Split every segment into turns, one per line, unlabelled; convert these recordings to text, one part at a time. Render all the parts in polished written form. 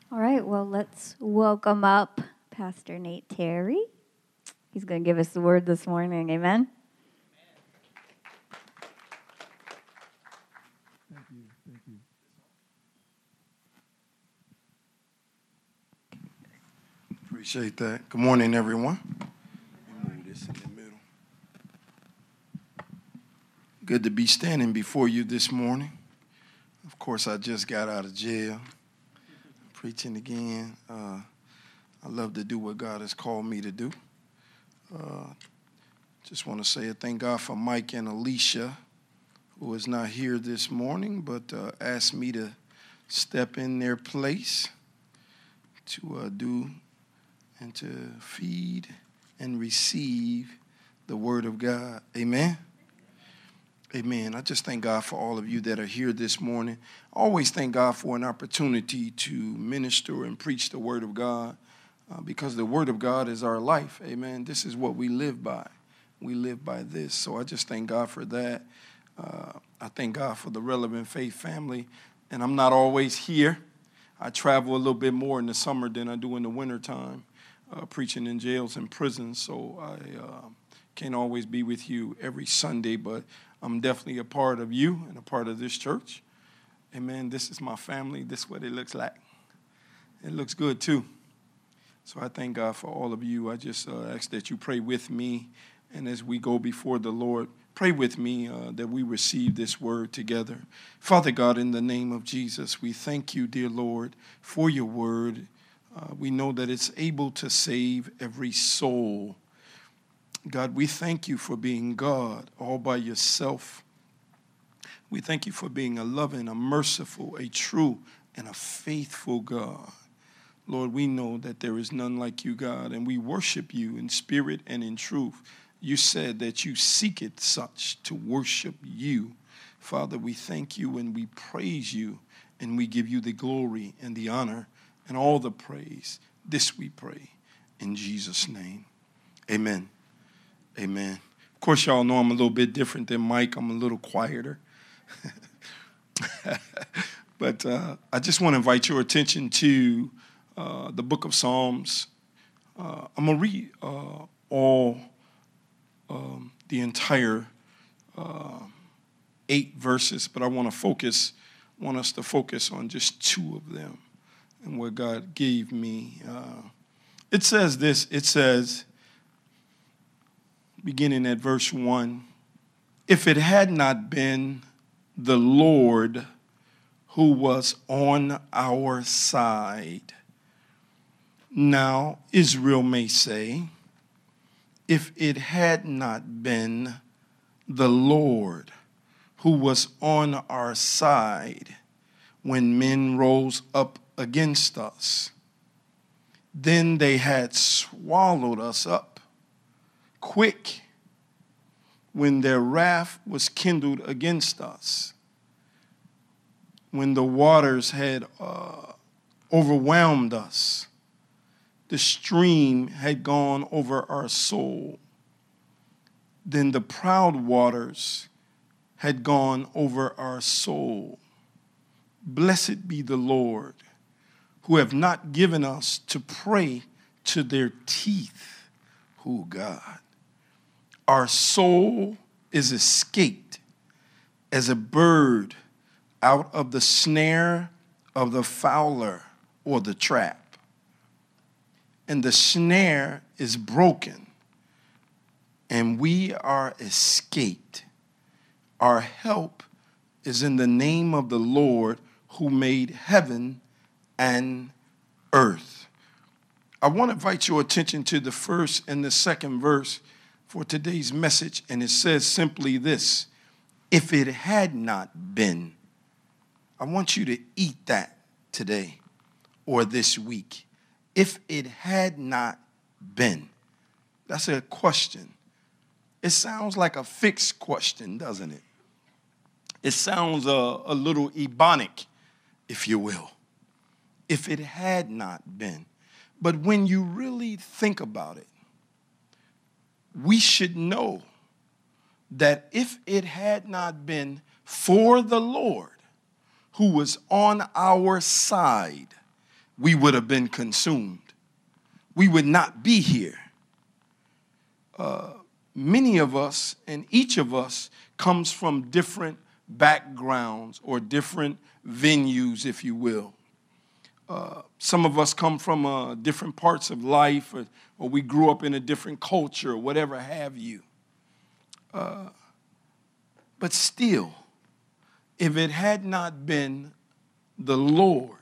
All right, well, let's welcome up Pastor Nate Terry. He's going to give us the word this morning. Amen.
Thank you. Appreciate that. Good morning, everyone. Let me move this in the middle. Good to be standing before you this morning. Of course, I just got out of jail, preaching again. I love to do what God has called me to do. Just want to say thank God for Mike and Alicia, who is not here this morning, but asked me to step in their place to do and to feed and receive the word of God. Amen? Amen. I just thank God for all of you that are here this morning. I always thank God for an opportunity to minister and preach the word of God because the word of God is our life. Amen. This is what we live by. We live by this. So I just thank God for that. I thank God for the Relevant Faith family. And I'm not always here. I travel a little bit more in the summer than I do in the wintertime, preaching in jails and prisons. So I can't always be with you every Sunday, but I'm definitely a part of you and a part of this church. Amen. This is my family. This is what it looks like. It looks good, too. So I thank God for all of you. I just ask that you pray with me. And as we go before the Lord, pray with me that we receive this word together. Father God, in the name of Jesus, we thank you, dear Lord, for your word. We know that it's able to save every soul. God, we thank you for being God all by yourself. We thank you for being a loving, a merciful, a true, and a faithful God. Lord, we know that there is none like you, God, and we worship you in spirit and in truth. You said that you seek it such to worship you. Father, we thank you and we praise you, and we give you the glory and the honor and all the praise. This we pray in Jesus' name. Amen. Amen. Of course, y'all know I'm a little bit different than Mike. I'm a little quieter. But I just want to invite your attention to the book of Psalms. I'm going to read the entire 8 verses, but I want us to focus on just 2 of them and what God gave me. It says this, beginning at verse 1, if it had not been the Lord who was on our side. Now, Israel may say, if it had not been the Lord who was on our side when men rose up against us, then they had swallowed us up quick when their wrath was kindled against us, when the waters had overwhelmed us, the stream had gone over our soul, then the proud waters had gone over our soul. Blessed be the Lord, who have not given us to prey to their teeth. Oh, God. Our soul is escaped as a bird out of the snare of the fowler or the trap. And the snare is broken, and we are escaped. Our help is in the name of the Lord who made heaven and earth. I want to invite your attention to the first and the second verse for today's message, and it says simply this: if it had not been. I want you to eat that today or this week. If it had not been. That's a question. It sounds like a fixed question, doesn't it? It sounds a little ebonic, if you will. If it had not been. But when you really think about it, we should know that if it had not been for the Lord who was on our side, we would have been consumed. We would not be here. Many of us and each of us comes from different backgrounds or different venues, if you will. Some of us come from different parts of life, or we grew up in a different culture, or whatever have you. But still, if it had not been the Lord,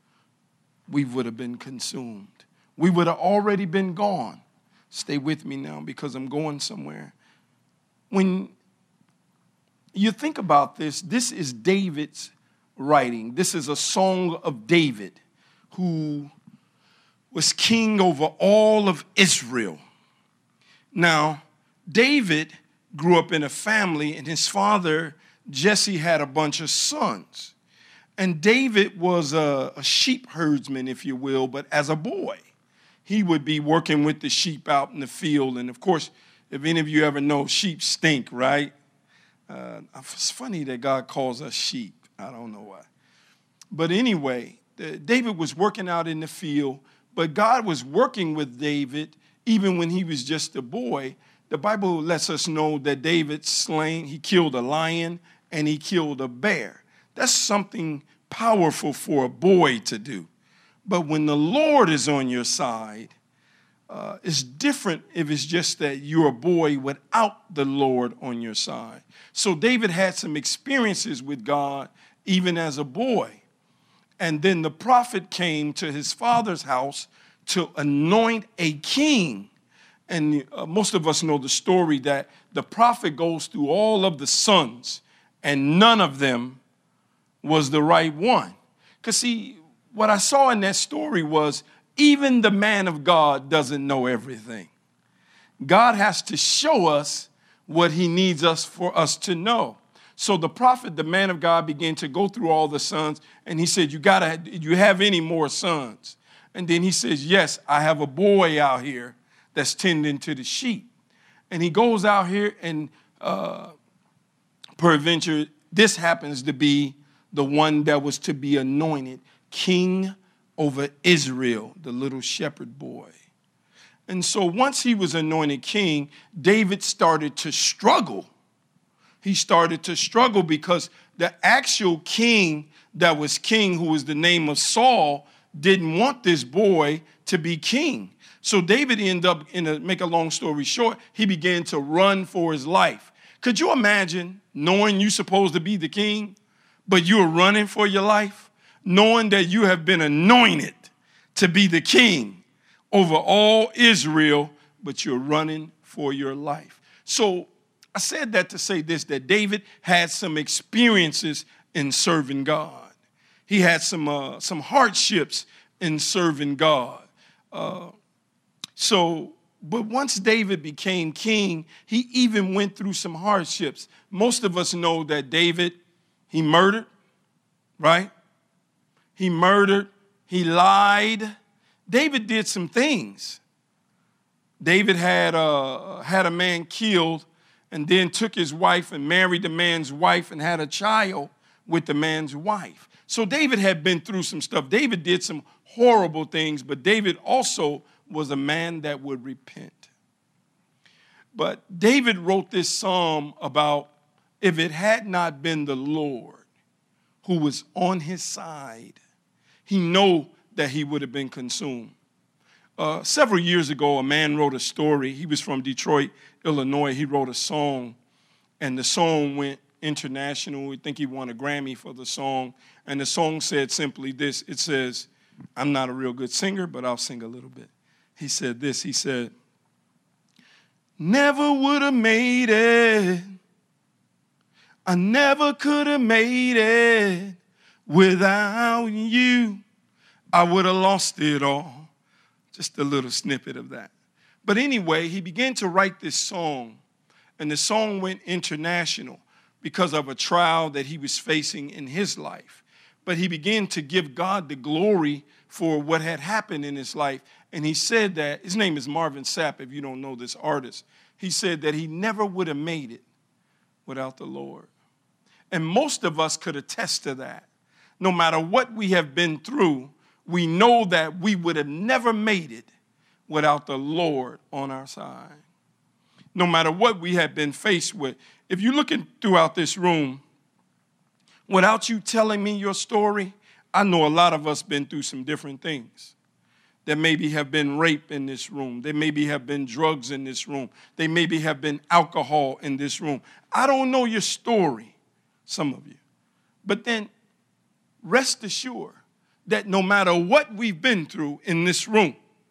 we would have been consumed. We would have already been gone. Stay with me now because I'm going somewhere. When you think about this, this is David's writing. This is a song of David, who was king over all of Israel. Now, David grew up in a family, and his father, Jesse, had a bunch of sons. And David was a sheep herdsman, if you will, but as a boy, he would be working with the sheep out in the field. And, of course, if any of you ever know, sheep stink, right? It's funny that God calls us sheep. I don't know why. But anyway, David was working out in the field, but God was working with David even when he was just a boy. The Bible lets us know that David he killed a lion and he killed a bear. That's something powerful for a boy to do. But when the Lord is on your side, it's different if it's just that you're a boy without the Lord on your side. So David had some experiences with God even as a boy. And then the prophet came to his father's house to anoint a king. And most of us know the story that the prophet goes through all of the sons, and none of them was the right one. Because see, what I saw in that story was even the man of God doesn't know everything. God has to show us what he needs for us to know. So the prophet, the man of God, began to go through all the sons, and he said, you have any more sons? And then he says, yes, I have a boy out here that's tending to the sheep. And he goes out here, and peradventure, this happens to be the one that was to be anointed king over Israel, the little shepherd boy. And so once he was anointed king, David started to struggle. He started to struggle because the actual king that was king, who was the name of Saul, didn't want this boy to be king. So David ended up, make a long story short, he began to run for his life. Could you imagine knowing you're supposed to be the king, but you're running for your life, knowing that you have been anointed to be the king over all Israel, but you're running for your life? So I said that to say this, that David had some experiences in serving God. He had some hardships in serving God. But once David became king, he even went through some hardships. Most of us know that David, he murdered, right? He murdered, he lied. David did some things. David had a man killed and then took his wife and married the man's wife and had a child with the man's wife. So David had been through some stuff. David did some horrible things, but David also was a man that would repent. But David wrote this psalm about if it had not been the Lord who was on his side, he knew that he would have been consumed. Several years ago, a man wrote a story. He was from Detroit, Illinois. He wrote a song, and the song went international. I think he won a Grammy for the song. And the song said simply this. It says, I'm not a real good singer, but I'll sing a little bit. He said this. He said, never would have made it. I never could have made it without you. I would have lost it all. Just a little snippet of that. But anyway, he began to write this song, and the song went international because of a trial that he was facing in his life. But he began to give God the glory for what had happened in his life. And he said that, his name is Marvin Sapp, if you don't know this artist. He said that he never would have made it without the Lord. And most of us could attest to that. No matter what we have been through, we know that we would have never made it without the Lord on our side. No matter what we have been faced with. If you're looking throughout this room, without you telling me your story, I know a lot of us been through some different things. There maybe have been rape in this room. There maybe have been drugs in this room. There maybe have been alcohol in this room. I don't know your story, some of you. But then rest assured that no matter what we've been through in this room,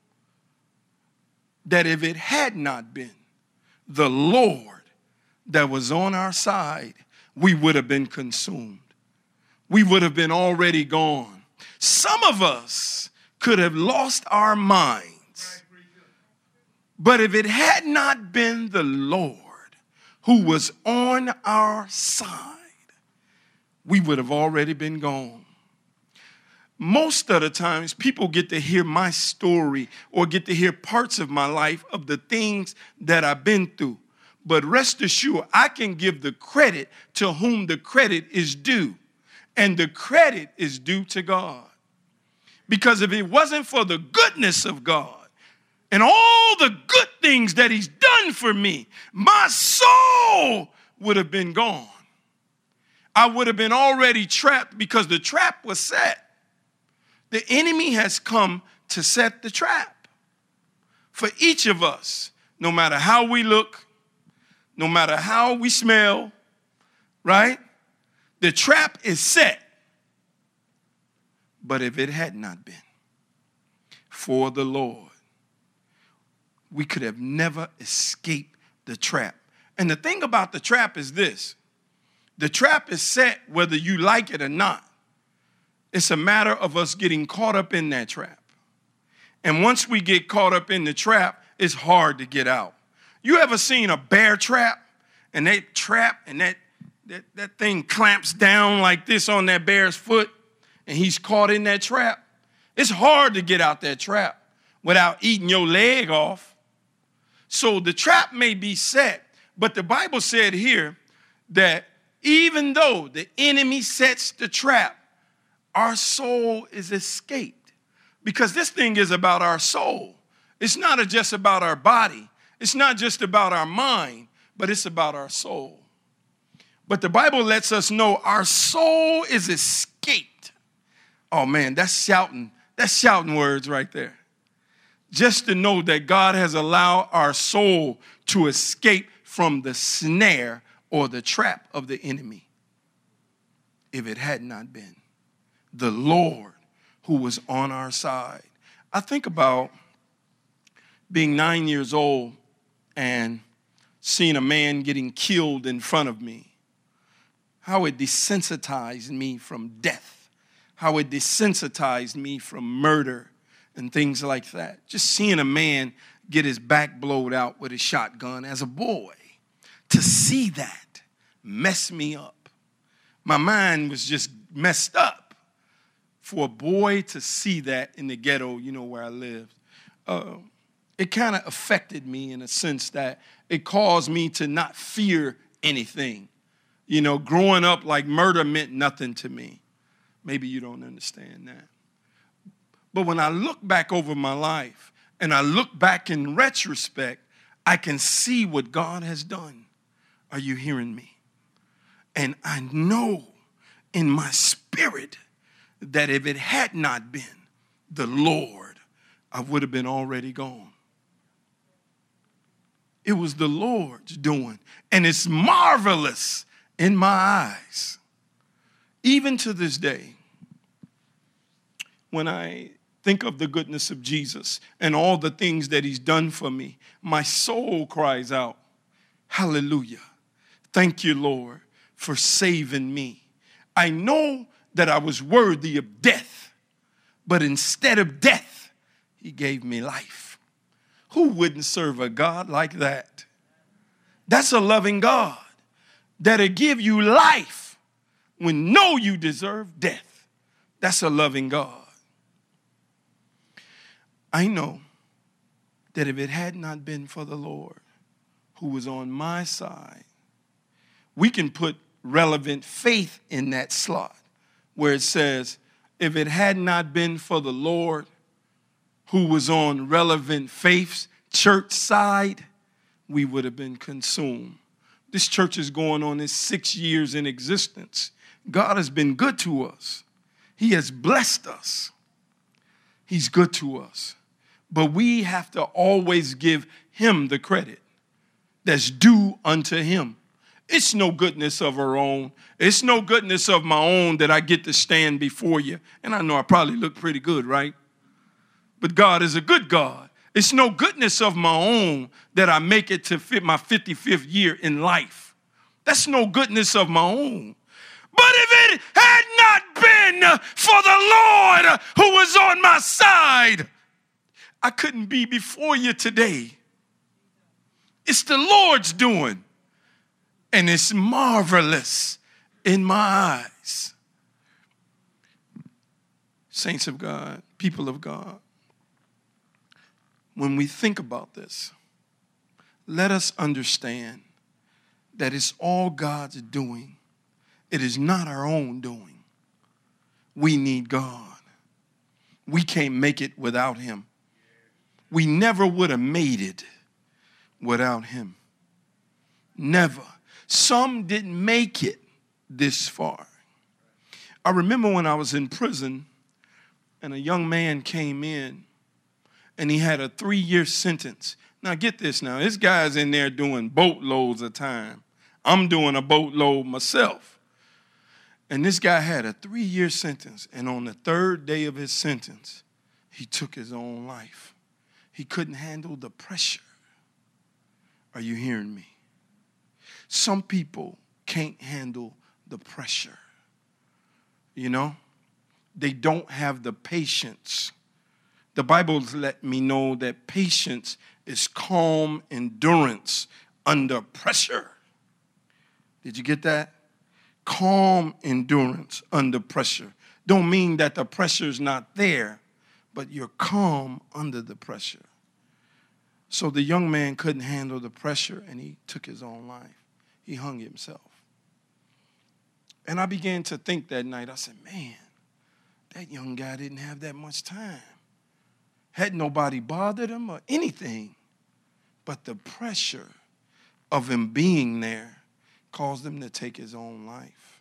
that if it had not been the Lord that was on our side, we would have been consumed. We would have been already gone. Some of us could have lost our minds. But if it had not been the Lord who was on our side, we would have already been gone. Most of the times, people get to hear my story or get to hear parts of my life of the things that I've been through. But rest assured, I can give the credit to whom the credit is due. And the credit is due to God. Because if it wasn't for the goodness of God and all the good things that he's done for me, my soul would have been gone. I would have been already trapped because the trap was set. The enemy has come to set the trap for each of us, no matter how we look, no matter how we smell, right? The trap is set. But if it had not been for the Lord, we could have never escaped the trap. And the thing about the trap is this. The trap is set whether you like it or not. It's a matter of us getting caught up in that trap. And once we get caught up in the trap, it's hard to get out. You ever seen a bear trap? And that trap and that thing clamps down like this on that bear's foot, and he's caught in that trap. It's hard to get out that trap without eating your leg off. So the trap may be set, but the Bible said here that even though the enemy sets the trap, our soul is escaped. Because this thing is about our soul. It's not just about our body. It's not just about our mind, but it's about our soul. But the Bible lets us know our soul is escaped. Oh man, that's shouting words right there. Just to know that God has allowed our soul to escape from the snare or the trap of the enemy. If it had not been the Lord who was on our side. I think about being 9 years old and seeing a man getting killed in front of me. How it desensitized me from death. How it desensitized me from murder and things like that. Just seeing a man get his back blowed out with a shotgun as a boy. To see that messed me up. My mind was just messed up. For a boy to see that in the ghetto, where I lived, it kind of affected me in a sense that it caused me to not fear anything. Growing up like murder meant nothing to me. Maybe you don't understand that. But when I look back over my life and I look back in retrospect, I can see what God has done. Are you hearing me? And I know in my spirit that if it had not been the Lord, I would have been already gone. It was the Lord's doing. And it's marvelous in my eyes. Even to this day, when I think of the goodness of Jesus and all the things that he's done for me, my soul cries out, hallelujah. Thank you, Lord, for saving me. I know that I was worthy of death, but instead of death, he gave me life. Who wouldn't serve a God like that? That's a loving God that'll give you life when know you deserve death. That's a loving God. I know that if it had not been for the Lord who was on my side, we can put relevant faith in that slot where it says, if it had not been for the Lord who was on Relevant Faith's church side, we would have been consumed. This church is going on its 6 years in existence. God has been good to us. He has blessed us. He's good to us. But we have to always give him the credit that's due unto him. It's no goodness of our own. It's no goodness of my own that I get to stand before you. And I know I probably look pretty good, right? But God is a good God. It's no goodness of my own that I make it to fit my 55th year in life. That's no goodness of my own. But if it had not been for the Lord who was on my side, I couldn't be before you today. It's the Lord's doing, and it's marvelous in my eyes. Saints of God, people of God, when we think about this, let us understand that it's all God's doing. It is not our own doing. We need God. We can't make it without him. We never would have made it without him. Never. Some didn't make it this far. I remember when I was in prison and a young man came in and he had a 3-year sentence. Now get this now. This guy's in there doing boatloads of time. I'm doing a boatload myself. And this guy had a 3-year sentence. And on the 3rd day of his sentence, he took his own life. He couldn't handle the pressure. Are you hearing me? Some people can't handle the pressure. You know? They don't have the patience. The Bible's let me know that patience is calm endurance under pressure. Did you get that? Calm endurance under pressure. Don't mean that the pressure's not there, but you're calm under the pressure. So the young man couldn't handle the pressure and he took his own life. He hung himself. And I began to think that night, I said, man, that young guy didn't have that much time. Had nobody bothered him or anything. But the pressure of him being there caused him to take his own life.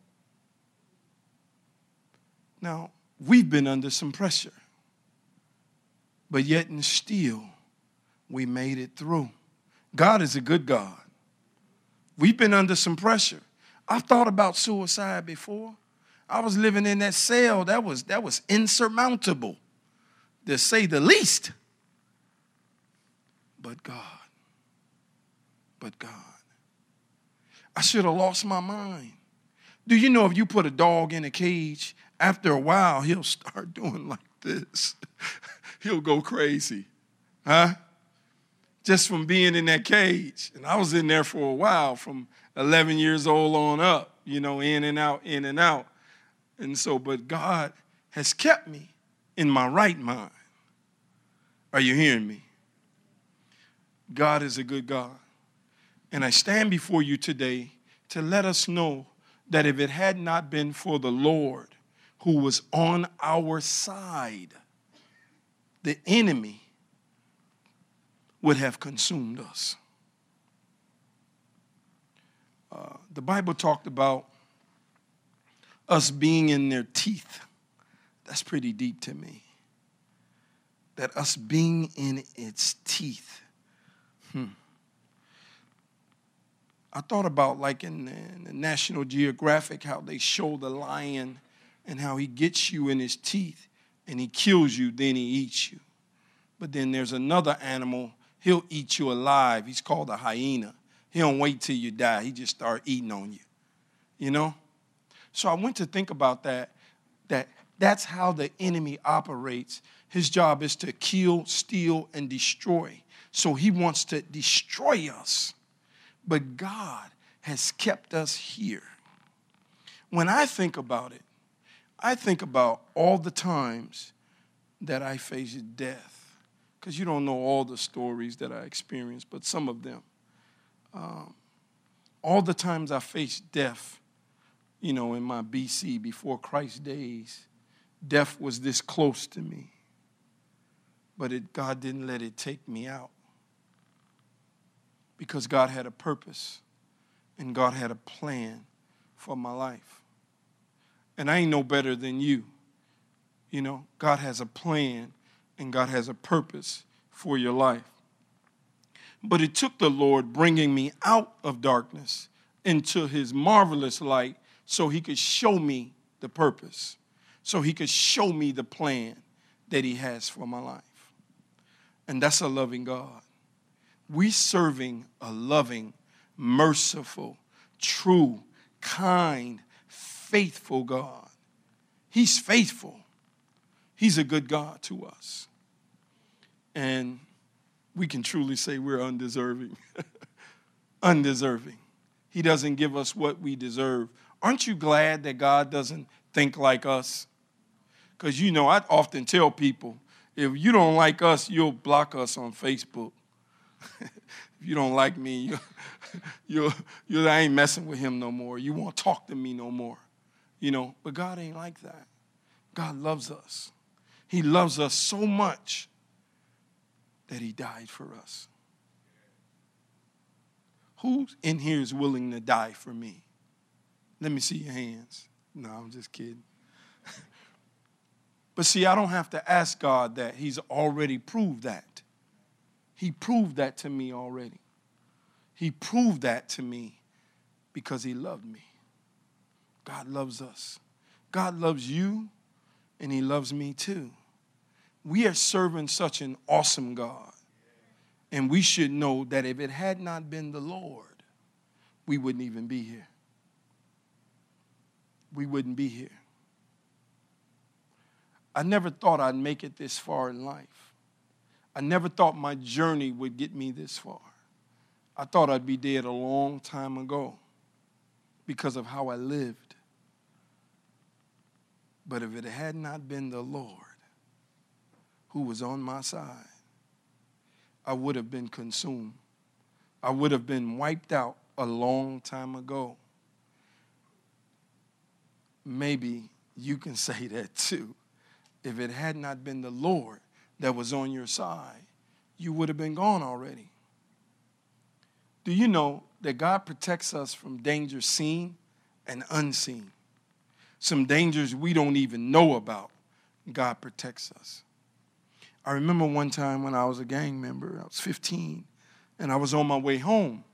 Now, we've been under some pressure. But yet and still, we made it through. God is a good God. We've been under some pressure. I've thought about suicide before. I was living in that cell. That was insurmountable, to say the least. But God. But God. I should have lost my mind. Do you know if you put a dog in a cage, after a while, he'll start doing like this. He'll go crazy. Huh? Just from being in that cage. And I was in there for a while, from 11 years old on up, you know, in and out, in and out. And so, but God has kept me in my right mind. Are you hearing me? God is a good God. And I stand before you today to let us know that if it had not been for the Lord who was on our side, the enemy would have consumed us. The Bible talked about us being in their teeth. That's pretty deep to me. That us being in its teeth. I thought about like in the National Geographic, how they show the lion and how he gets you in his teeth and he kills you, then he eats you. But then there's another animal, he'll eat you alive. He's called a hyena. He don't wait till you die. He just start eating on you, you know? So I went to think about that's how the enemy operates. His job is to kill, steal, and destroy. So he wants to destroy us. But God has kept us here. When I think about it, I think about all the times that I faced death. Because you don't know all the stories that I experienced, but some of them. All the times I faced death, you know, in my BC, before Christ days, Death was this close to me, but God didn't let it take me out, because God had a purpose and God had a plan for my life. And I ain't no better than you. You know, God has a plan and God has a purpose for your life. But it took the Lord bringing me out of darkness into his marvelous light so he could show me the purpose, so he could show me the plan that he has for my life. And that's a loving God. We serving a loving, merciful, true, kind, faithful God. He's faithful. He's a good God to us. And we can truly say we're undeserving. Undeserving. He doesn't give us what we deserve. Aren't you glad that God doesn't think like us? Because, you know, I often tell people, if you don't like us, you'll block us on Facebook. If you don't like me, I ain't messing with him no more. You won't talk to me no more. You know, but God ain't like that. God loves us. He loves us so much that he died for us. Who in here is willing to die for me? Let me see your hands. No, I'm just kidding. But see, I don't have to ask God that. He's already proved that. He proved that to me already. He proved that to me because he loved me. God loves us. God loves you, and he loves me too. We are serving such an awesome God. And we should know that if it had not been the Lord, we wouldn't even be here. We wouldn't be here. I never thought I'd make it this far in life. I never thought my journey would get me this far. I thought I'd be dead a long time ago because of how I lived. But if it had not been the Lord who was on my side, I would have been consumed. I would have been wiped out a long time ago. Maybe you can say that too. If it had not been the Lord that was on your side, you would have been gone already. Do you know that God protects us from danger seen and unseen? Some dangers we don't even know about, God protects us. I remember one time when I was a gang member, I was 15, and I was on my way home.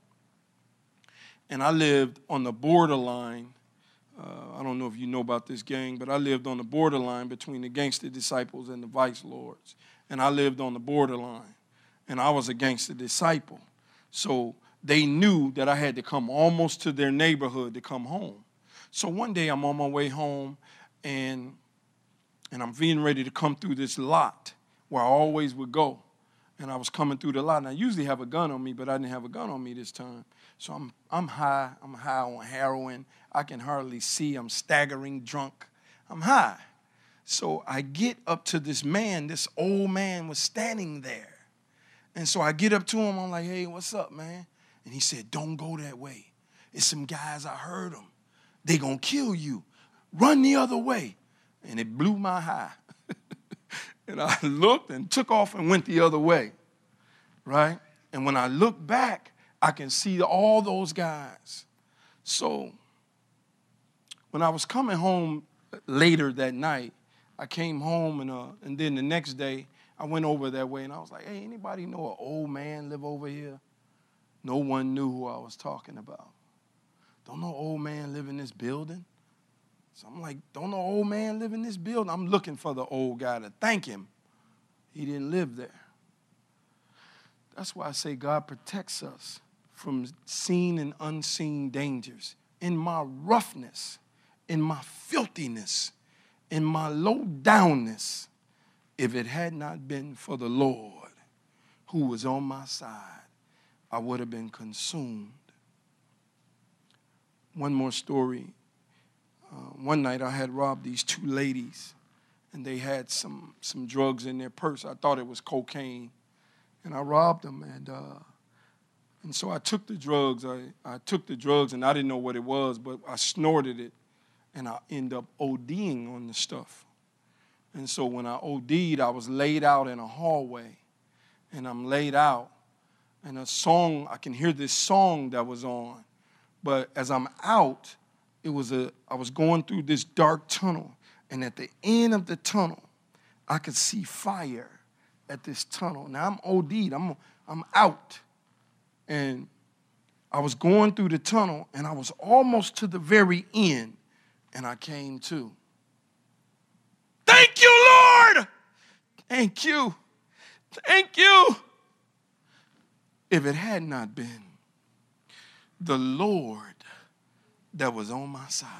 And I lived on the borderline. I don't know if you know about this gang, but I lived on the borderline between the Gangster Disciples and the Vice Lords. And I lived on the borderline. And I was a gangster disciple. So they knew that I had to come almost to their neighborhood to come home. So one day I'm on my way home, and I'm getting ready to come through this lot where I always would go. And I was coming through the lot, and I usually have a gun on me, but I didn't have a gun on me this time. So I'm high. I'm high on heroin. I can hardly see. I'm staggering drunk. I'm high. So I get up to this man. This old man was standing there. And so I get up to him. I'm like, hey, what's up, man? And he said, don't go that way. It's some guys, I heard them. They gonna kill you. Run the other way. And it blew my high. And I looked and took off and went the other way, right? And when I look back, I can see all those guys. So when I was coming home later that night, I came home, and then the next day, I went over that way, and I was like, hey, anybody know an old man live over here? No one knew who I was talking about. Don't no old man live in this building? So I'm like, don't no old man live in this building? I'm looking for the old guy to thank him. He didn't live there. That's why I say God protects us from seen and unseen dangers. In my roughness, in my filthiness, in my low downness, if it had not been for the Lord who was on my side, I would have been consumed. One more story. One night I had robbed these two ladies, and they had some drugs in their purse. I thought it was cocaine, and I robbed them. And so I took the drugs. I took the drugs, and I didn't know what it was, but I snorted it, and I ended up ODing on the stuff. And so when I OD'd, I was laid out in a hallway. And I'm laid out. And I can hear this song that was on. But as I'm out, I was going through this dark tunnel. And at the end of the tunnel, I could see fire at this tunnel. Now I'm OD'd. I'm out. And I was going through the tunnel, and I was almost to the very end, and I came to. Thank you, Lord! Thank you. Thank you. If it had not been the Lord that was on my side,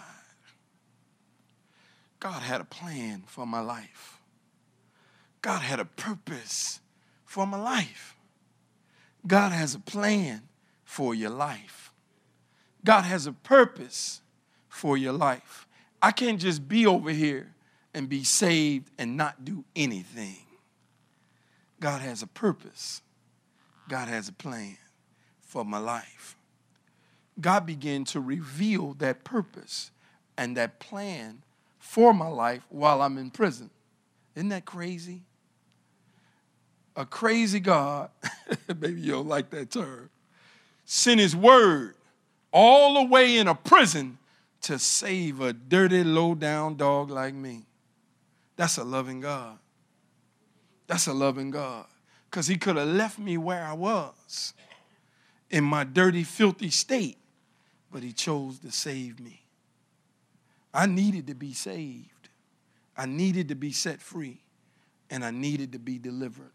God had a plan for my life. God had a purpose for my life. God has a plan for your life. God has a purpose for your life. I can't just be over here and be saved and not do anything. God has a purpose. God has a plan for my life. God began to reveal that purpose and that plan for my life while I'm in prison. Isn't that crazy? A crazy God, maybe you don't like that term, sent his word all the way in a prison to save a dirty, low-down dog like me. That's a loving God. That's a loving God. Because he could have left me where I was in my dirty, filthy state, but he chose to save me. I needed to be saved. I needed to be set free, and I needed to be delivered.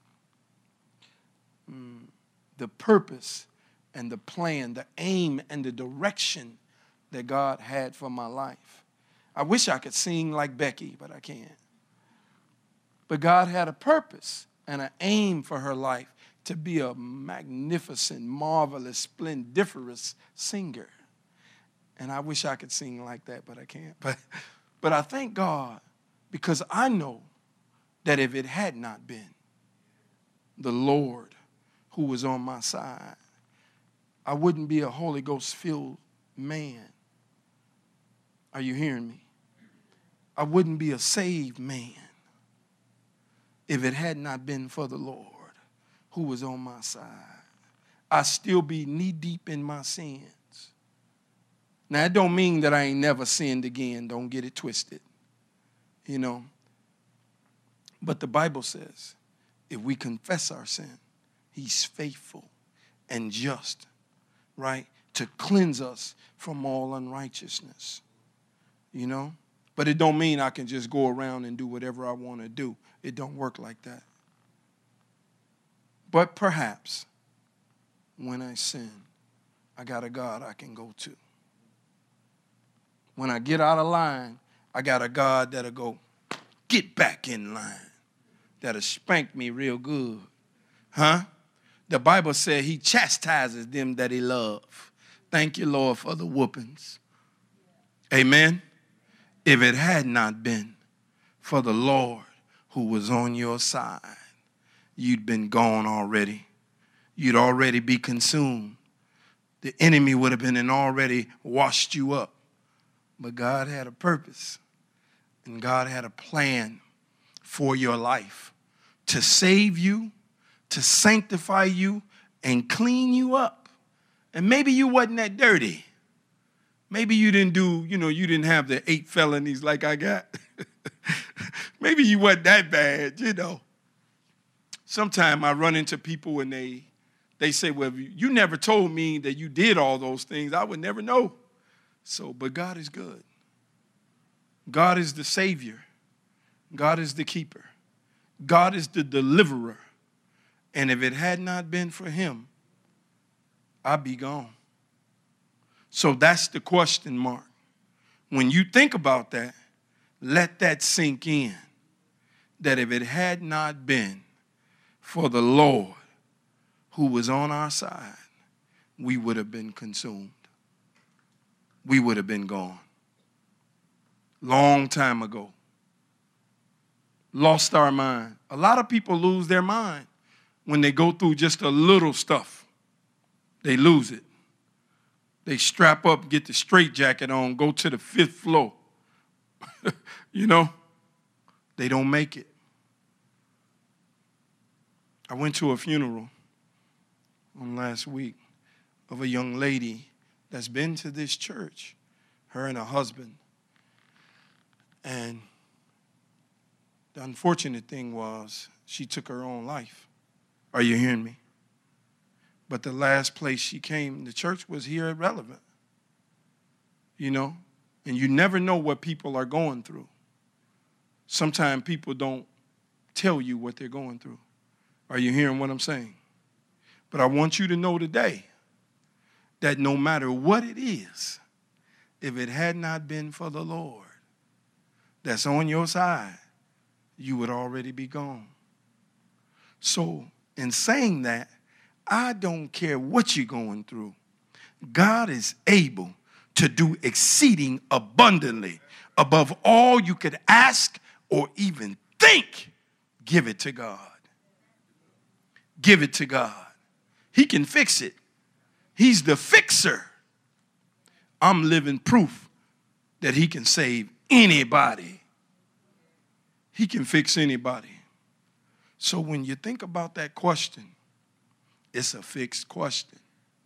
The purpose and the plan, the aim and the direction that God had for my life. I wish I could sing like Becky, but I can't. But God had a purpose and an aim for her life to be a magnificent, marvelous, splendiferous singer. And I wish I could sing like that, but I can't. But I thank God because I know that if it had not been the Lord who was on my side, I wouldn't be a Holy Ghost-filled man. Are you hearing me? I wouldn't be a saved man if it had not been for the Lord who was on my side. I'd still be knee-deep in my sins. Now, that don't mean that I ain't never sinned again. Don't get it twisted. You know. But the Bible says, if we confess our sin, he's faithful and just, right, to cleanse us from all unrighteousness. You know? But it don't mean I can just go around and do whatever I want to do. It don't work like that. But perhaps when I sin, I got a God I can go to. When I get out of line, I got a God that'll go, get back in line. That'll spank me real good. Huh? The Bible said he chastises them that he loves. Thank you, Lord, for the whoopings. Amen. If it had not been for the Lord who was on your side, you'd been gone already. You'd already be consumed. The enemy would have been and already washed you up. But God had a purpose, and God had a plan for your life to save you, to sanctify you, and clean you up. And maybe you wasn't that dirty. Maybe you didn't you didn't have the 8 felonies like I got. Maybe you wasn't that bad, Sometimes I run into people and they say, well, you never told me that you did all those things. I would never know. But God is good. God is the Savior. God is the keeper. God is the deliverer. And if it had not been for him, I'd be gone. So that's the question mark. When you think about that, let that sink in. That if it had not been for the Lord who was on our side, we would have been consumed. We would have been gone. Long time ago. Lost our mind. A lot of people lose their mind when they go through just a little stuff. They lose it. They strap up, get the straitjacket on, go to the 5th floor. They don't make it. I went to a funeral on last week of a young lady that's been to this church, her and her husband. And the unfortunate thing was she took her own life. Are you hearing me? But the last place she came, the church was here at Relevant. You know? And you never know what people are going through. Sometimes people don't tell you what they're going through. Are you hearing what I'm saying? But I want you to know today that no matter what it is, if it had not been for the Lord that's on your side, you would already be gone. So in saying that, I don't care what you're going through. God is able to do exceeding abundantly above all you could ask or even think. Give it to God. Give it to God. He can fix it. He's the fixer. I'm living proof that he can save anybody. He can fix anybody. So when you think about that question, it's a fixed question.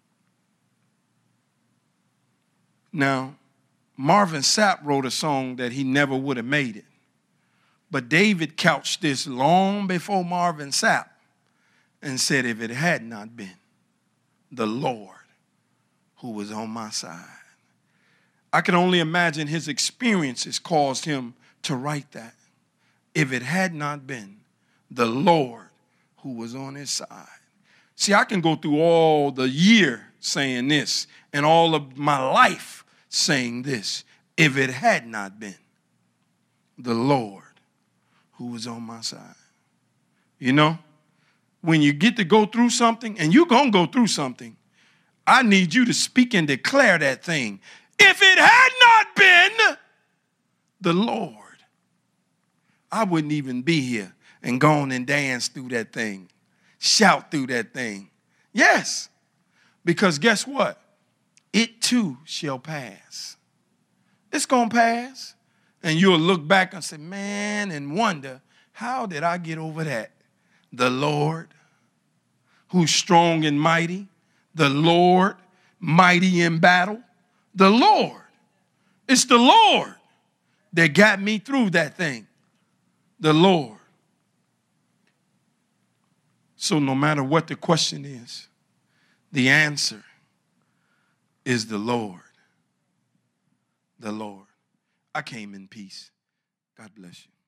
Now, Marvin Sapp wrote a song that he never would have made it. But David couched this long before Marvin Sapp and said, if it had not been the Lord who was on my side. I can only imagine his experiences caused him to write that. If it had not been the Lord who was on his side. See, I can go through all the year saying this and all of my life saying this. If it had not been the Lord who was on my side. You know, when you get to go through something, and you're going to go through something, I need you to speak and declare that thing. If it had not been the Lord, I wouldn't even be here and go on and dance through that thing, shout through that thing. Yes, because guess what? It too shall pass. It's going to pass. And you'll look back and say, man, and wonder, how did I get over that? The Lord, who's strong and mighty, the Lord, mighty in battle, the Lord. It's the Lord that got me through that thing. The Lord. So no matter what the question is, the answer is the Lord. The Lord. I came in peace. God bless you.